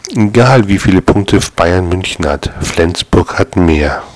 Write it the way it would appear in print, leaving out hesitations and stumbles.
Egal wie viele Punkte Bayern München hat, Flensburg hat mehr.